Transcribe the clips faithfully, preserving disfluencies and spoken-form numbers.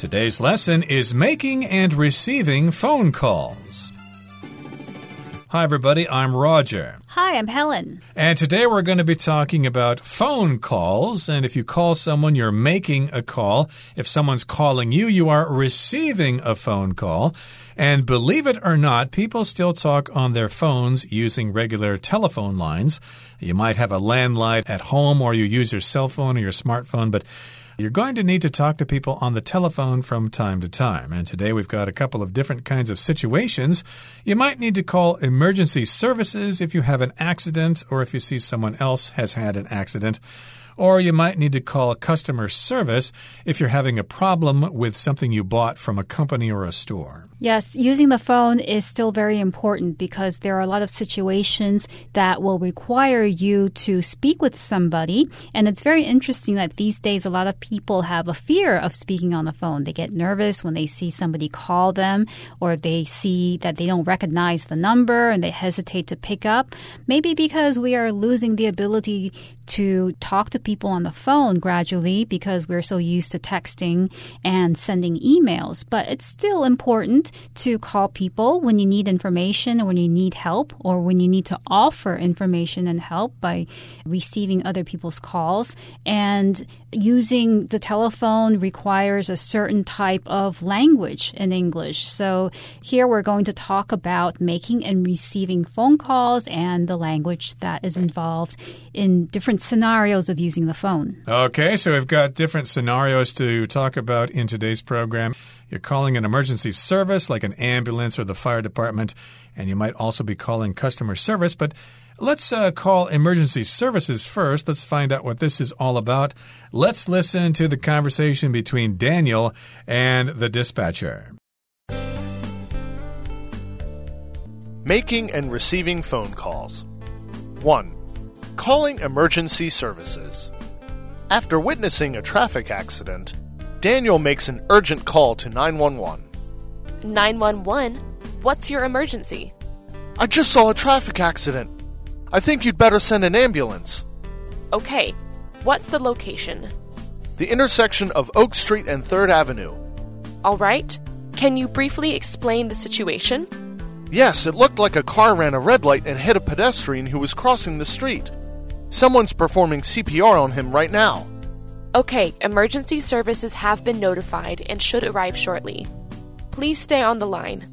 Today's lesson is making and receiving phone calls. Hi, everybody. I'm Roger. Hi, I'm Helen. And today we're going to be talking about phone calls. And if you call someone, you're making a call. If someone's calling you, you are receiving a phone call. And believe it or not, people still talk on their phones using regular telephone lines. You might have a landline at home, or you use your cell phone or your smartphone, but you're going to need to talk to people on the telephone from time to time. And today we've got a couple of different kinds of situations. You might need to call emergency services if you have an accident or if you see someone else has had an accident. Or you might need to call customer service if you're having a problem with something you bought from a company or a store. Yes, using the phone is still very important because there are a lot of situations that will require you to speak with somebody. And it's very interesting that these days a lot of people have a fear of speaking on the phone. They get nervous when they see somebody call them, or if they see that they don't recognize the number and they hesitate to pick up. Maybe because we are losing the ability to talk to people on the phone gradually because we're so used to texting and sending emails. But it's still important to call people when you need information or when you need help, or when you need to offer information and help by receiving other people's calls. And using the telephone requires a certain type of language in English. So here we're going to talk about making and receiving phone calls and the language that is involved in different scenarios of using the phone. Okay, so we've got different scenarios to talk about in today's program. You're calling an emergency service like an ambulance or the fire department, and you might also be calling customer service. But let's uh, call emergency services first. Let's find out what this is all about. Let's listen to the conversation between Daniel and the dispatcher. Making and receiving phone calls. one. Calling emergency services. After witnessing a traffic accident, Daniel makes an urgent call to nine one one. nine one one? What's your emergency? I just saw a traffic accident. I think you'd better send an ambulance. Okay. What's the location? The intersection of Oak Street and third Avenue. All right. Can you briefly explain the situation? Yes, it looked like a car ran a red light and hit a pedestrian who was crossing the street. Someone's performing C P R on him right now. Okay, emergency services have been notified and should arrive shortly. Please stay on the line.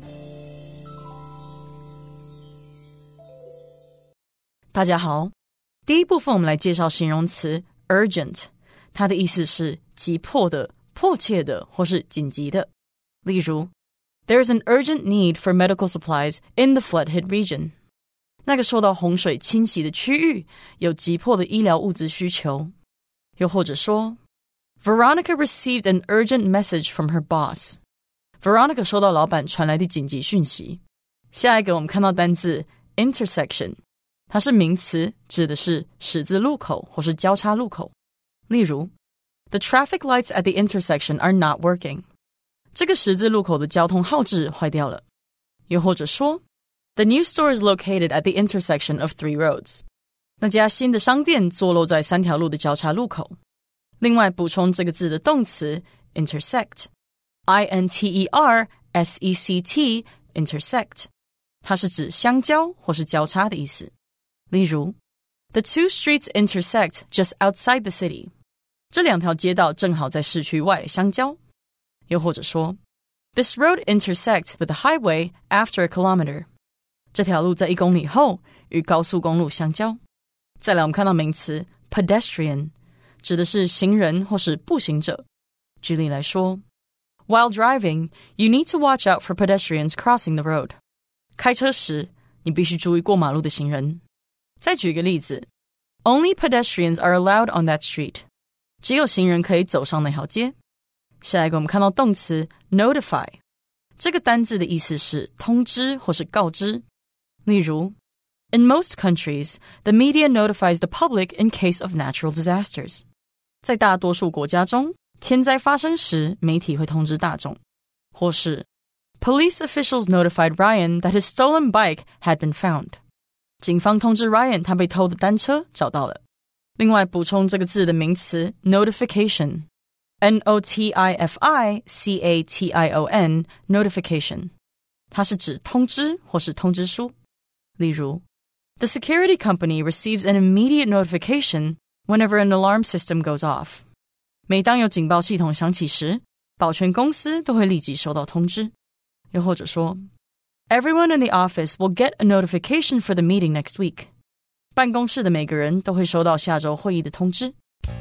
大家好，第一部分我们来介紹形容詞 urgent， 它的意思是急迫的、迫切的或是緊急的。例如 There is an urgent need for medical supplies in the flood-hit region. 那個受到洪水侵襲的區域有急迫的醫療物資需求。又或者說 Veronica received an urgent message from her boss. Veronica 收到老闆傳來的緊急訊息。下一個我們看到單字 intersection， 它是名詞，指的是十字路口或是交叉路口。例如 The traffic lights at the intersection are not working. 這個十字路口的交通號誌壞掉了。又或者說The new store is located at the intersection of three roads. 那家新的商店坐落在三條路的交叉路口。另外補充這個字的動詞 intersect. I N T E R S E C T intersect. 它是指相交或是交叉的意思。例如 The two streets intersect just outside the city. 這兩條街道正好在市區外相交。又或者說 This road intersects with the highway after a kilometer. 這條路在一公里後與高速公路相交。再來我們看到名詞 pedestrian， 指的是行人或是步行者。舉例來說 While driving, you need to watch out for pedestrians crossing the road. 開車時你必須注意過馬路的行人。再舉一個例子 Only pedestrians are allowed on that street. 只有行人可以走上那條街。下一個我們看到動詞 notify， 這個單字的意思是通知或是告知。例如 In most countries, the media notifies the public in case of natural disasters. 在大多數國家中，天災發生時，媒體會通知大眾。或是 Police officials notified Ryan that his stolen bike had been found. 警方通知 Ryan 他被偷的單車找到了。另外補充這個字的名詞 notification， N O T I F I C A T I O N notification， 它是指通知或是通知書。例如 The security company receives an immediate notification whenever an alarm system goes off. 每當有警報系統響起時，保全公司都會立即收到通知。又或者說 Everyone in the office will get a notification for the meeting next week. 辦公室的每個人都會收到下周會議的通知。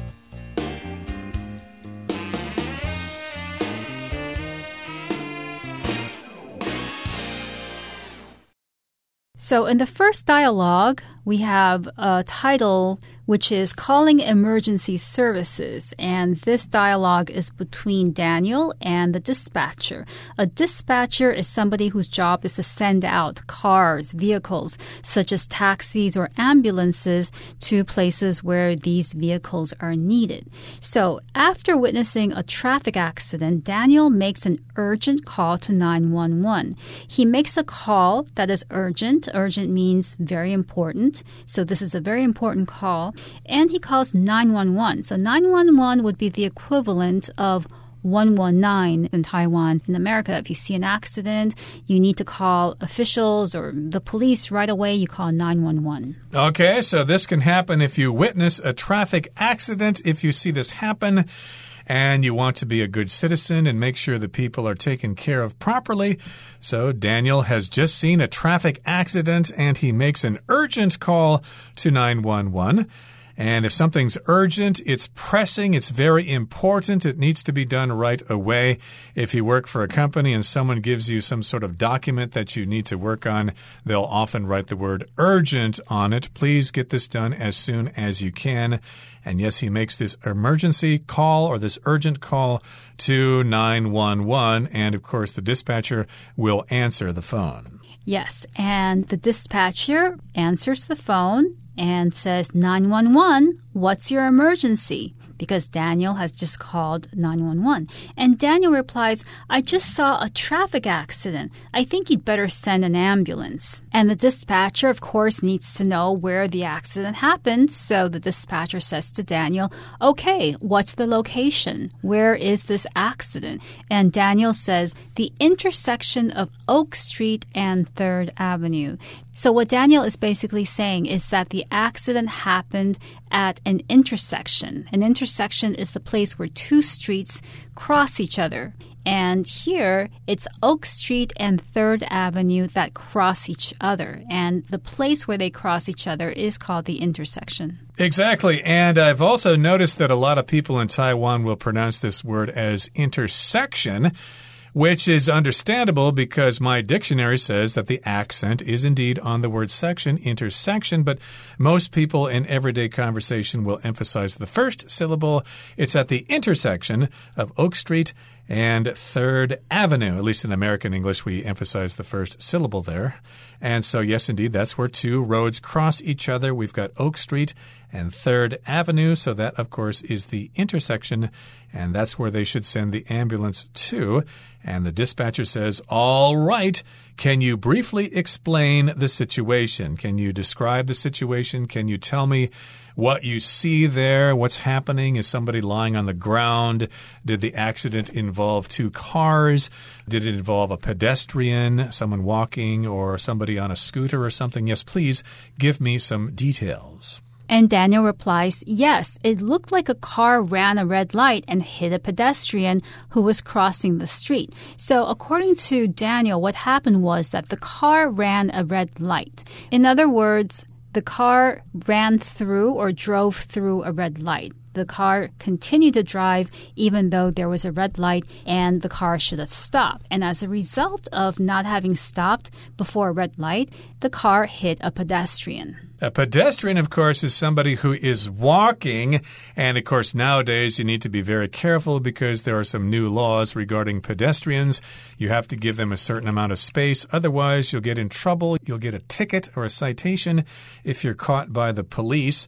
So in the first dialogue, we have a title which is Calling Emergency Services. And this dialogue is between Daniel and the dispatcher. A dispatcher is somebody whose job is to send out cars, vehicles, such as taxis or ambulances to places where these vehicles are needed. So after witnessing a traffic accident, Daniel makes an urgent call to nine one one. He makes a call that is urgent. Urgent means very important. So this is a very important call. And he calls nine one one. So nine one one would be the equivalent of one one nine in Taiwan. In America, if you see an accident, you need to call officials or the police right away. You call nine one one. Okay, so this can happen if you witness a traffic accident. If you see this happen and you want to be a good citizen and make sure the people are taken care of properly. So Daniel has just seen a traffic accident and he makes an urgent call to nine one one. And if something's urgent, it's pressing, it's very important, it needs to be done right away. If you work for a company and someone gives you some sort of document that you need to work on, they'll often write the word urgent on it. Please get this done as soon as you can. And yes, he makes this emergency call or this urgent call to nine one one. And of course, the dispatcher will answer the phone. Yes, and the dispatcher answers the phone and says, nine one one, what's your emergency? Because Daniel has just called nine one one. And Daniel replies, I just saw a traffic accident. I think you'd better send an ambulance. And the dispatcher, of course, needs to know where the accident happened. So the dispatcher says to Daniel, okay, what's the location? Where is this accident? And Daniel says, the intersection of Oak Street and third Avenue. So what Daniel is basically saying is that the accident happened at an intersection. An intersection is the place where two streets cross each other. And here, it's Oak Street and third Avenue that cross each other. And the place where they cross each other is called the intersection. Exactly. And I've also noticed that a lot of people in Taiwan will pronounce this word as intersection, which is understandable because my dictionary says that the accent is indeed on the word section, intersection, but most people in everyday conversation will emphasize the first syllable. It's at the intersection of Oak Street and third Avenue. At least in American English, we emphasize the first syllable there. And so, yes, indeed, that's where two roads cross each other. We've got Oak Street and third Avenue. So that, of course, is the intersection. And that's where they should send the ambulance to. And the dispatcher says, all right, can you briefly explain the situation? Can you describe the situation? Can you tell me what you see there? What's happening? Is somebody lying on the ground? Did the accident involve two cars? Did it involve a pedestrian, someone walking, or somebody on a scooter or something? Yes, please give me some details. And Daniel replies, yes, it looked like a car ran a red light and hit a pedestrian who was crossing the street. So according to Daniel, what happened was that the car ran a red light. In other words, the car ran through or drove through a red light. The car continued to drive even though there was a red light and the car should have stopped. And as a result of not having stopped before a red light, the car hit a pedestrian. A pedestrian, of course, is somebody who is walking. And, of course, nowadays you need to be very careful because there are some new laws regarding pedestrians. You have to give them a certain amount of space. Otherwise, you'll get in trouble. You'll get a ticket or a citation if you're caught by the police.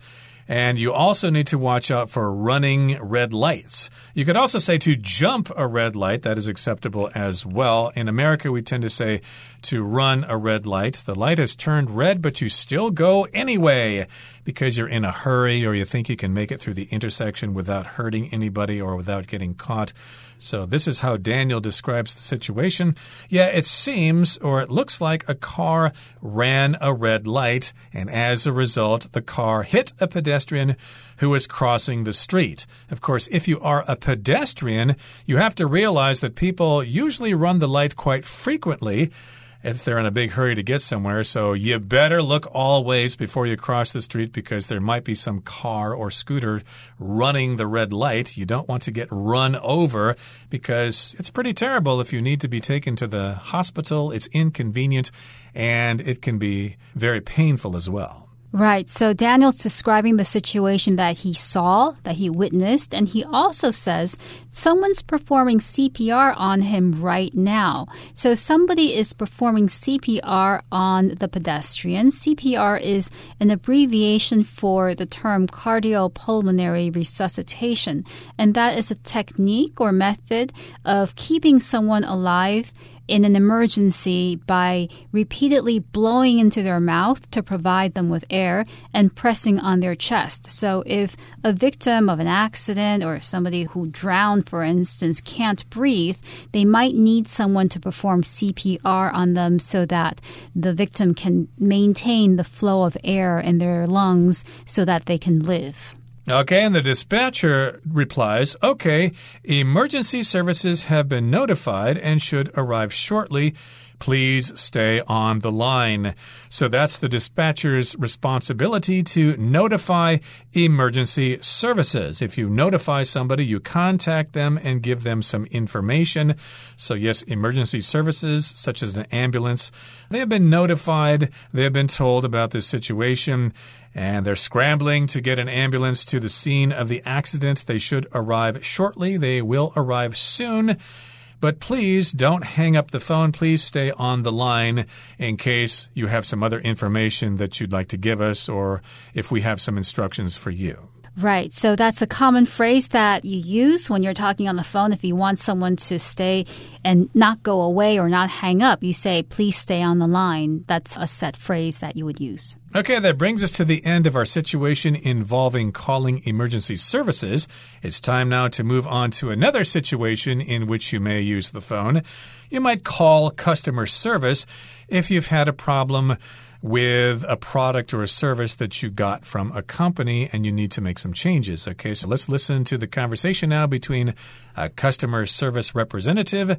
And you also need to watch out for running red lights. You could also say to jump a red light. That is acceptable as well. In America, we tend to say to run a red light. The light has turned red, but you still go anyway because you're in a hurry or you think you can make it through the intersection without hurting anybody or without getting caught. So this is how Daniel describes the situation. Yeah, it seems or it looks like a car ran a red light, and as a result, the car hit a pedestrian who was crossing the street. Of course, if you are a pedestrian, you have to realize that people usually run the light quite frequently if they're in a big hurry to get somewhere. So you better look all ways before you cross the street because there might be some car or scooter running the red light. You don't want to get run over because it's pretty terrible if you need to be taken to the hospital. It's inconvenient and it can be very painful as well. Right. So Daniel's describing the situation that he saw, that he witnessed, and he also says someone's performing C P R on him right now. So somebody is performing C P R on the pedestrian. C P R is an abbreviation for the term cardiopulmonary resuscitation, and that is a technique or method of keeping someone alive in an emergency by repeatedly blowing into their mouth to provide them with air and pressing on their chest. So if a victim of an accident or somebody who drowned, for instance, can't breathe, they might need someone to perform C P R on them so that the victim can maintain the flow of air in their lungs so that they can live. Okay, and the dispatcher replies, okay, emergency services have been notified and should arrive shortly. Please stay on the line. So that's the dispatcher's responsibility to notify emergency services. If you notify somebody, you contact them and give them some information. So yes, emergency services, such as an ambulance, they have been notified. They have been told about this situation, and they're scrambling to get an ambulance to the scene of the accident. They should arrive shortly. They will arrive soon. But please don't hang up the phone. Please stay on the line in case you have some other information that you'd like to give us or if we have some instructions for you. Right. So that's a common phrase that you use when you're talking on the phone. If you want someone to stay and not go away or not hang up, you say, please stay on the line. That's a set phrase that you would use. Okay, that brings us to the end of our situation involving calling emergency services. It's time now to move on to another situation in which you may use the phone. You might call customer service if you've had a problem with a product or a service that you got from a company and you need to make some changes. Okay, so let's listen to the conversation now between a customer service representative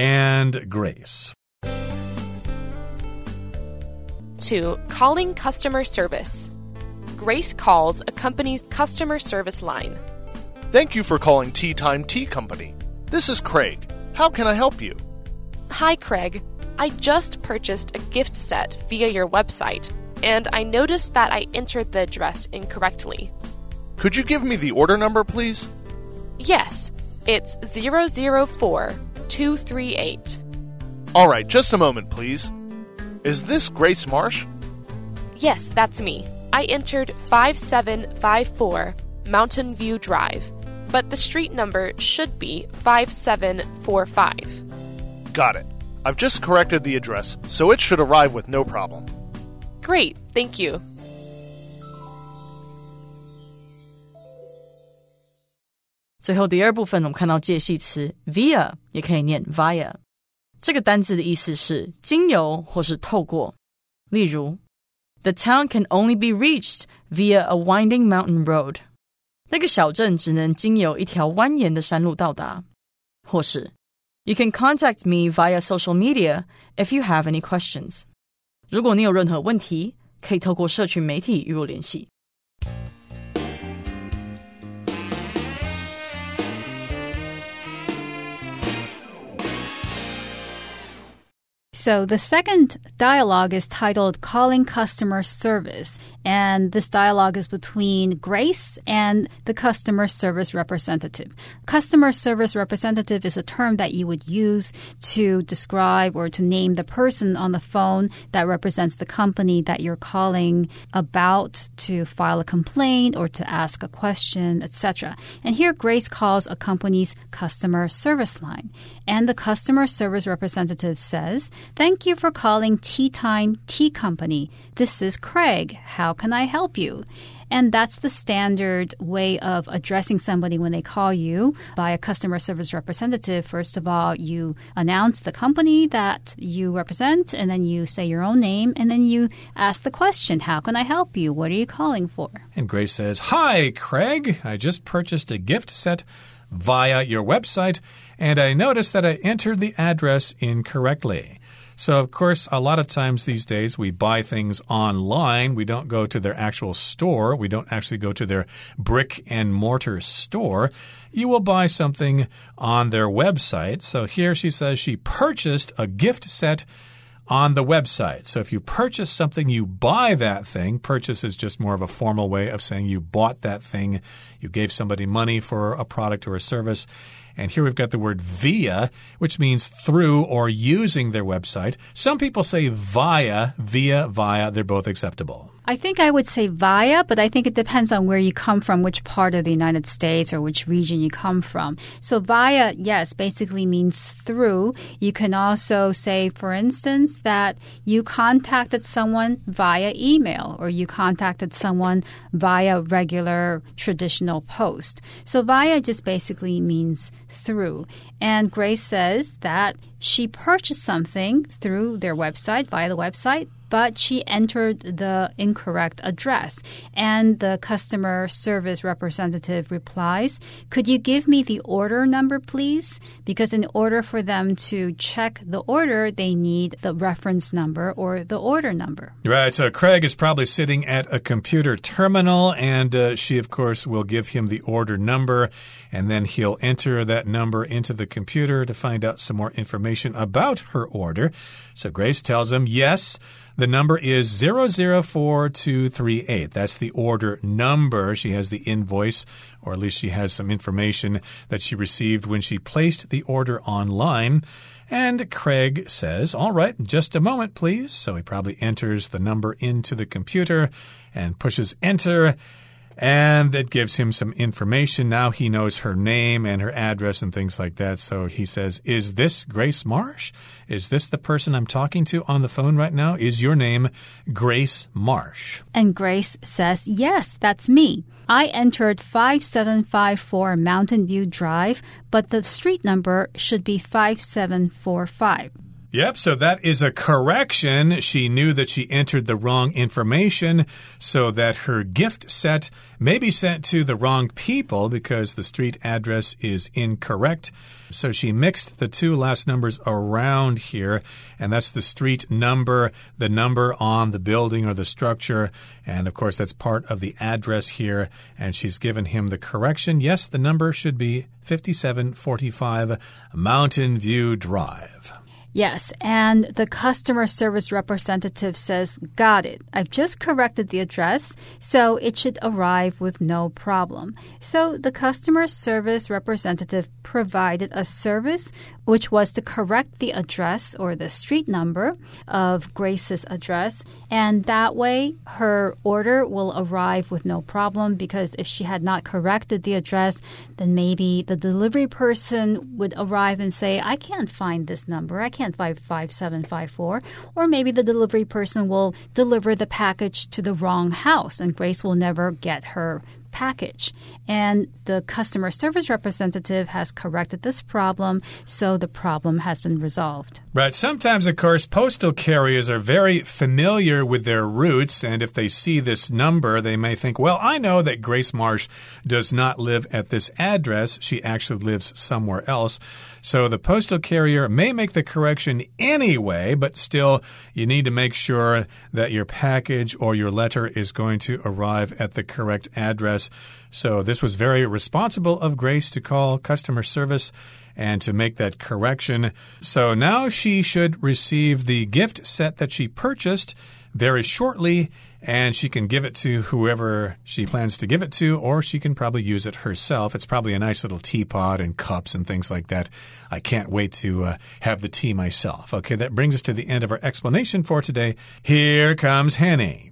and Grace. two. Calling customer service. Grace calls a company's customer service line. Thank you for calling Tea Time Tea Company. This is Craig. How can I help you? Hi, Craig. I just purchased a gift set via your website, and I noticed that I entered the address incorrectly. Could you give me the order number, please? Yes, it's zero zero four two three eight. All right, just a moment, please. Is this Grace Marsh? Yes, that's me. I entered five seven five four Mountain View Drive, but the street number should be five seven four five. Got it. I've just corrected the address, so it should arrive with no problem. Great, thank you. 最後第二部分我们看到介系詞 via 也可以念 via， 這個單字的意思是經由或是透過。例如 The town can only be reached via a winding mountain road. 那個小鎮只能經由一條蜿蜒的山路到達。或是You can contact me via social media if you have any questions. 如果你有任何問題，可以透過社群媒體與我聯繫。 So the second dialogue is titled Calling Customer Service, And this dialogue is between Grace and the customer service representative. Customer service representative is a term that you would use to describe or to name the person on the phone that represents the company that you're calling about to file a complaint or to ask a question, et cetera. And here Grace calls a company's customer service line. And the customer service representative says, "Thank you for calling Tea Time Tea Company. This is Craig. How can I help you?" And that's the standard way of addressing somebody when they call you by a customer service representative. First of all, you announce the company that you represent, and then you say your own name, and then you ask the question, "How can I help you? What are you calling for?" And Grace says, "Hi, Craig. I just purchased a gift set via your website, and I noticed that I entered the address incorrectly." So, of course, a lot of times these days we buy things online. We don't go to their actual store. We don't actually go to their brick and mortar store. You will buy something on their website. So here she says she purchased a gift set on the website. So if you purchase something, you buy that thing. Purchase is just more of a formal way of saying you bought that thing. You gave somebody money for a product or a service. And here we've got the word via, which means through or using their website. Some people say via, via, via. They're both acceptable. I think I would say via, but I think it depends on where you come from, which part of the United States or which region you come from. So via, yes, basically means through. You can also say, for instance, that you contacted someone via email or you contacted someone via regular traditional post. So via just basically means through. And Grace says that she purchased something through their website, via the website, but she entered the incorrect address. And the customer service representative replies, "Could you give me the order number, please?" Because in order for them to check the order, they need the reference number or the order number. Right. So Craig is probably sitting at a computer terminal, and uh, she, of course, will give him the order number, and then he'll enter that number into the computer to find out some more information about her order. So Grace tells him, yes, the number is zero zero four two three eight. That's the order number. She has the invoice, or at least she has some information that she received when she placed the order online. And Craig says, all right, just a moment, please. So he probably enters the number into the computer and pushes enter. And it gives him some information. Now he knows her name and her address and things like that. So he says, is this Grace Marsh? Is this the person I'm talking to on the phone right now? Is your name Grace Marsh? And Grace says, yes, that's me. I entered five seven five four Mountain View Drive, but the street number should be five seven four five. Yep, so that is a correction. She knew that she entered the wrong information so that her gift set may be sent to the wrong people because the street address is incorrect. So she mixed the two last numbers around here, and that's the street number, the number on the building or the structure, and of course that's part of the address here, and she's given him the correction. Yes, the number should be fifty-seven forty-five Mountain View Drive. Yes, and the customer service representative says, got it. I've just corrected the address, so it should arrive with no problem. So the customer service representative provided a service which was to correct the address or the street number of Grace's address, and that way her order will arrive with no problem, because if she had not corrected the address, then maybe the delivery person would arrive and say, I can't find this number. I can't find five seven five four. Or maybe the delivery person will deliver the package to the wrong house, and Grace will never get her package. And the customer service representative has corrected this problem, so the problem has been resolved. Right. Sometimes, of course, postal carriers are very familiar with their routes, and if they see this number, they may think, well, I know that Grace Marsh does not live at this address. She actually lives somewhere else. So the postal carrier may make the correction anyway, but still, you need to make sure that your package or your letter is going to arrive at the correct address. So this was very responsible of Grace to call customer service and to make that correction. So now she should receive the gift set that she purchased very shortly, and she can give it to whoever she plans to give it to, or she can probably use it herself. It's probably a nice little teapot and cups and things like that. I can't wait to uh, have the tea myself. Okay, that brings us to the end of our explanation for today. Here comes Hanny.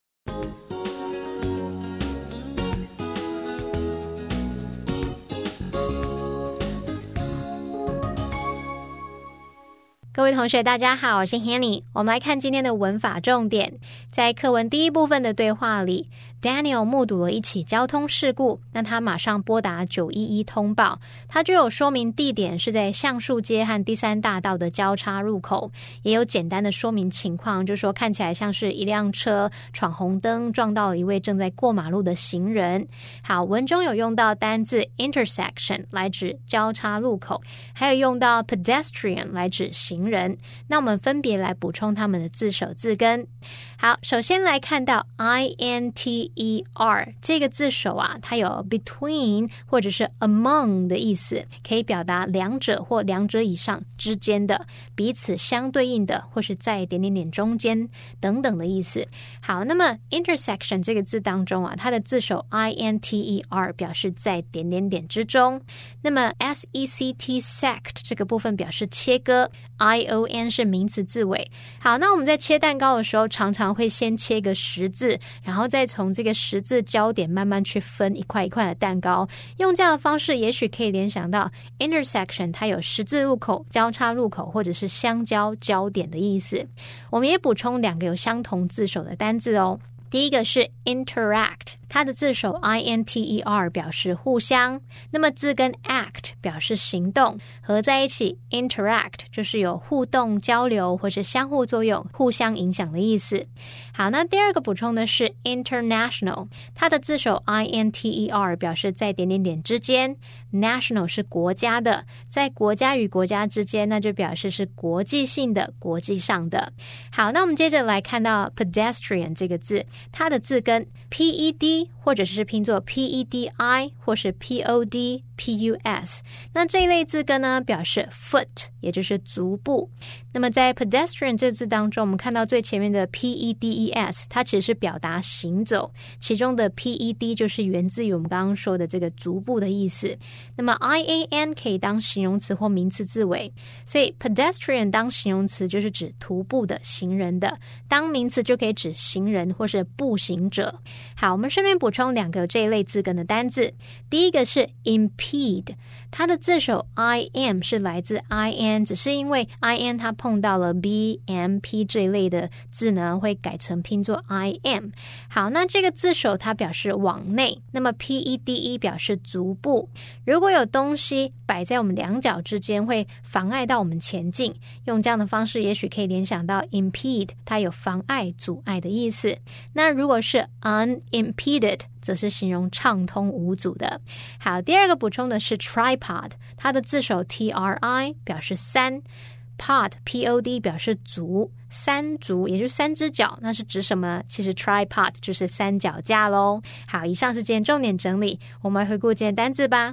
各各位同学大家好，我是 Hanny。 我们来看今天的文法重点。在課文第一部分的對話裡， Daniel 目睹了一起交通事故，那他馬上撥打九一一通報。他就有說明地點是在橡樹街和第三大道的交叉入口，也有簡單的說明情況，就是說看起來像是一輛車闖紅燈撞到了一位正在過馬路的行人。好，文中有用到單字 intersection 來指交叉路口，還有用到 pedestrian 來指行人。那我們分別來補充他們的字首字根。好，首先來看到 I N T E R 這個字首啊，它有 between 或者是 among 的意思，可以表達兩者或兩者以上之間的，彼此相對應的，或是在點點點中間等等的意思。好，那麼 intersection 這個字當中啊，它的字首 I N T E R 表示在點點點之中。那麼 S E C T sect 這個部分表示切割， I O N 是名詞字尾。好，那我們在切蛋糕的時候，常常會先切個十字，然後再從這個十字交點慢慢去分一塊一塊的蛋糕。用這樣的方式，也許可以聯想到 intersection 它有十字路口、交叉路口或者是相交交點的意思。我們也補充兩個有相同字首的單字哦。第一個是 interact， 它的字首 I N T E R 表示互相，那麼字根 act 表示行動，合在一起 interact 就是有互動交流或是相互作用、互相影響的意思。好，那第二個補充的是 international， 它的字首 I N T E R 表示在點點點之間， national 是國家的，在國家與國家之間，那就表示是國際性的、國際上的。好，那我們接着來看到 pedestrian 這個字，它的字根 P E D 或者是拼作 P E D I 或是 P O D P U S， 那這一類字根呢表示 foot， 也就是足部。那麼在 pedestrian 這字當中，我們看到最前面的 P E D E S， 它其實是表達行走，其中的 P E D 就是源自於我們剛剛說的這個足部的意思。那麼 I A N 可以當形容詞或名詞字尾，所以 pedestrian 當形容詞就是指徒步的、行人的，當名詞就可以指行人或是步行者。好，我們順便補充兩個這一類字根的單字。第一個是 impede， 它的字首 I M 是來自 I N， 只是因為 I N 它碰到了 B M P 這一類的字呢，會改成拼作 I M。 好，那這個字首它表示往內，那麼 P E D E 表示足部。如果有東西擺在我們兩腳之間，會妨礙到我們前進，用這樣的方式也許可以聯想到 impede， 它有妨礙、阻礙的意思。那如果是 unimpeded， 則是形容暢通無阻的。好，第二個補充的是 tripod， 它的字首 T R I 表示三， pod P O D 表示足，三足也就是三隻腳，那是指什麼呢？其實 tripod 就是三腳架咯。好，以上是今天重點整理，我們來回顧今天單字吧。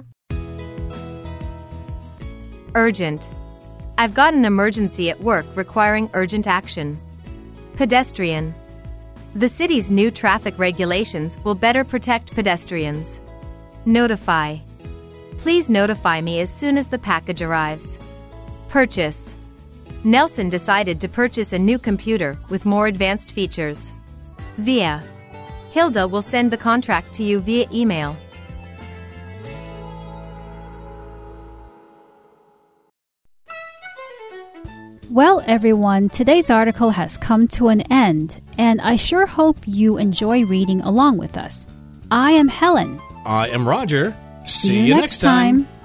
Urgent. I've got an emergency at work requiring urgent action. Pedestrian. The city's new traffic regulations will better protect pedestrians. Notify. Please notify me as soon as the package arrives. Purchase. Nelson decided to purchase a new computer with more advanced features. Via. Hilda will send the contract to you via email. Well, everyone, today's article has come to an end, and I sure hope you enjoy reading along with us. I am Helen. I am Roger. See, See you, you next time. time.